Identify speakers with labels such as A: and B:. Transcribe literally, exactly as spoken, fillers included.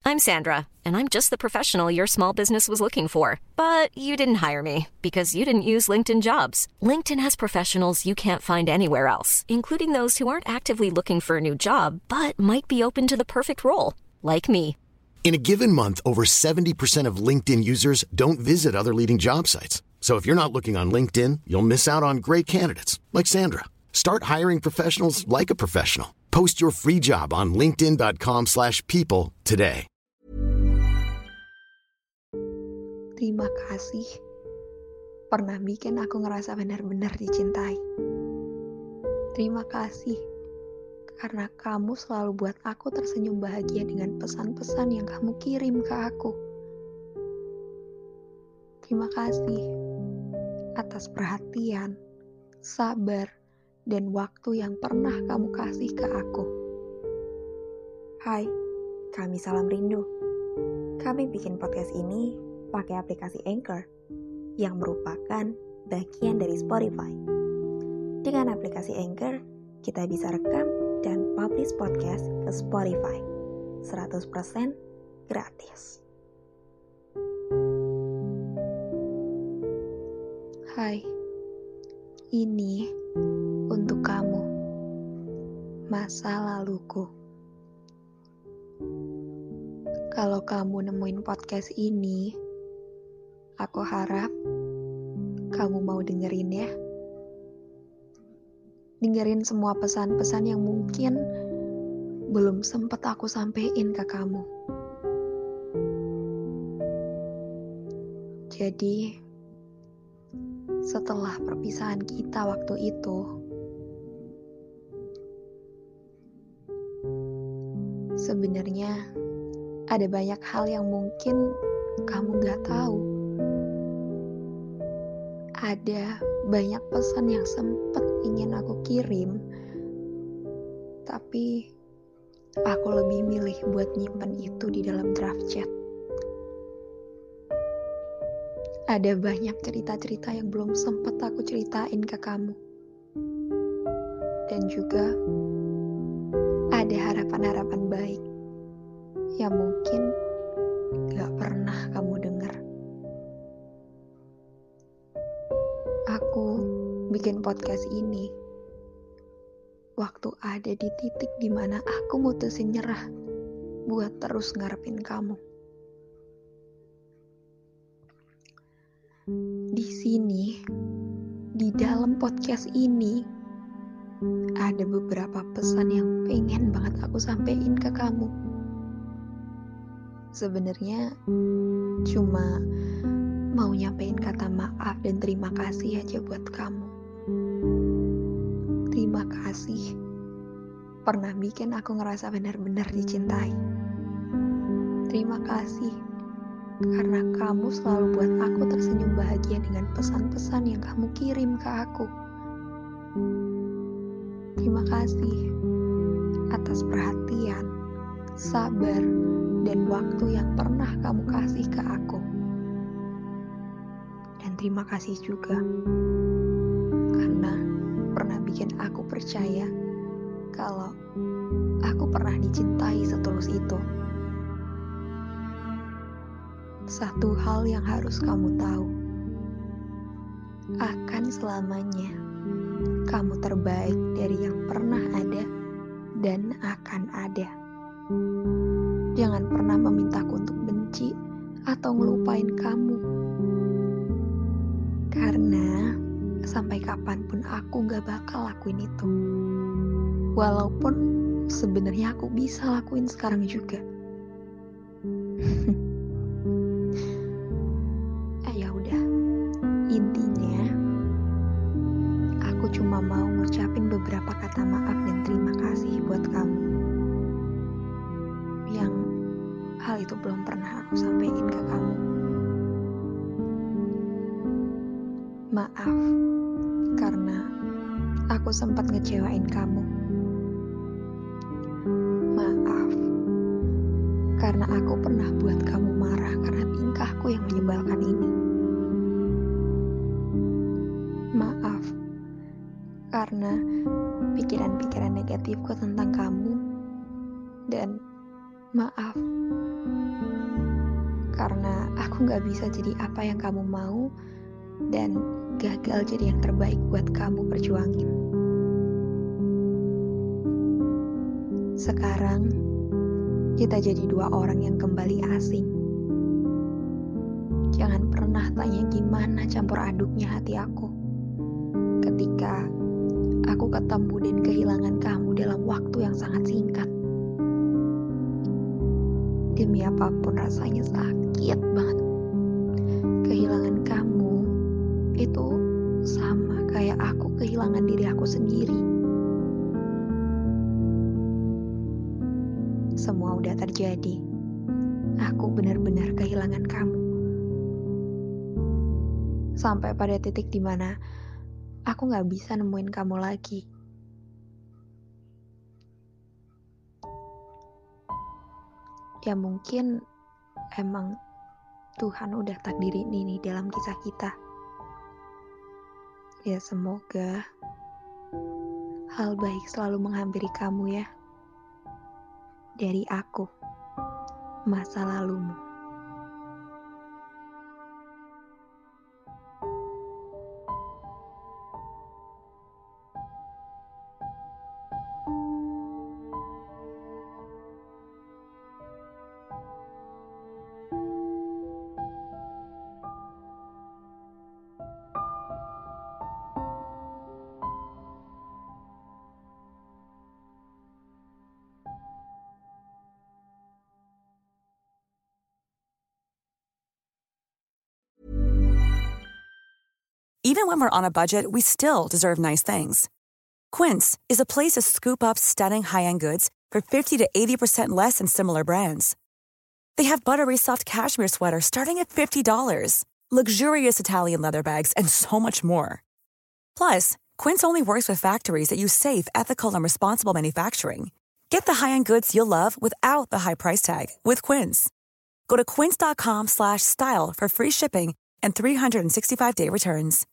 A: I'm Sandra, and I'm just the professional your small business was looking for. But you didn't hire me because you didn't use LinkedIn Jobs. LinkedIn has professionals you can't find anywhere else, including those who aren't actively looking for a new job, but might be open to the perfect role, like me.
B: In a given month, over seventy percent of LinkedIn users don't visit other leading job sites. So if you're not looking on LinkedIn, you'll miss out on great candidates like Sandra. Start hiring professionals like a professional. Post your free job on linkedin.com slash people today.
C: Terima kasih pernah bikin aku ngerasa benar-benar dicintai. Terima kasih karena kamu selalu buat aku tersenyum bahagia dengan pesan-pesan yang kamu kirim ke aku. Terima kasih atas perhatian, sabar, dan waktu yang pernah kamu kasih ke aku.
D: Hai, kami Salam Rindu. Kami bikin podcast ini pakai aplikasi Anchor yang merupakan bagian dari Spotify. Dengan aplikasi Anchor, kita bisa rekam dan publish podcast ke Spotify seratus persen gratis.
C: Hai, ini untuk kamu, masa laluku. Kalau kamu nemuin podcast ini, aku harap kamu mau dengerin ya. Dengerin semua pesan-pesan yang mungkin belum sempat aku sampein ke kamu. Jadi, setelah perpisahan kita waktu itu, sebenarnya ada banyak hal yang mungkin kamu gak tahu. Ada banyak pesan yang sempat ingin aku kirim, tapi aku lebih milih buat nyimpen itu di dalam draft chat. Ada banyak cerita-cerita yang belum sempat aku ceritain ke kamu. Dan juga ada harapan-harapan baik yang mungkin gak pernah kamu dengar. Aku bikin podcast ini waktu ada di titik dimana aku mutusin nyerah buat terus ngarepin kamu. Di sini, di dalam podcast ini, ada beberapa pesan yang pengen banget aku sampein ke kamu. Sebenarnya cuma mau nyampein kata maaf dan terima kasih aja buat kamu. Terima kasih pernah bikin aku ngerasa benar-benar dicintai. Terima kasih karena kamu selalu buat aku tersenyum bahagia dengan pesan-pesan yang kamu kirim ke aku. Terima kasih atas perhatian, sabar, dan waktu yang pernah kamu kasih ke aku. Dan terima kasih juga karena pernah bikin aku percaya kalau aku pernah dicintai setulus itu. Satu hal yang harus kamu tahu, akan selamanya kamu terbaik dari yang pernah ada dan akan ada. Jangan pernah memintaku untuk benci atau ngelupain kamu. Karena sampai kapanpun aku gak bakal lakuin itu. Walaupun sebenarnya aku bisa lakuin sekarang juga. Cuma mau ngucapin beberapa kata maaf dan terima kasih buat kamu yang hal itu belum pernah aku sampaikan ke kamu. Maaf karena aku sempat ngecewain kamu. Maaf karena aku pernah buat kamu marah karena tingkahku yang menyebalkan ini. Maaf karena pikiran-pikiran negatifku tentang kamu, dan maaf Karena aku gak bisa jadi apa yang kamu mau dan gagal jadi yang terbaik buat kamu perjuangin. Sekarang, kita jadi dua orang yang kembali asing. Jangan pernah tanya gimana campur aduknya hati aku ketika aku ketemu dan kehilangan kamu dalam waktu yang sangat singkat. Demi apapun rasanya sakit banget. Kehilangan kamu itu sama kayak aku kehilangan diri aku sendiri. Semua udah terjadi. Aku benar-benar kehilangan kamu. Sampai pada titik dimana aku gak bisa nemuin kamu lagi. Ya mungkin emang Tuhan udah takdirin ini dalam kisah kita. Ya semoga hal baik selalu menghampiri kamu ya. Dari aku, masa lalumu.
E: Even when we're on a budget, we still deserve nice things. Quince is a place to scoop up stunning high-end goods for fifty to eighty percent less than similar brands. They have buttery soft cashmere sweaters starting at fifty dollars, luxurious Italian leather bags, and so much more. Plus, Quince only works with factories that use safe, ethical, and responsible manufacturing. Get the high-end goods you'll love without the high price tag with Quince. Go to quince.com slash style for free shipping and three sixty-five day returns.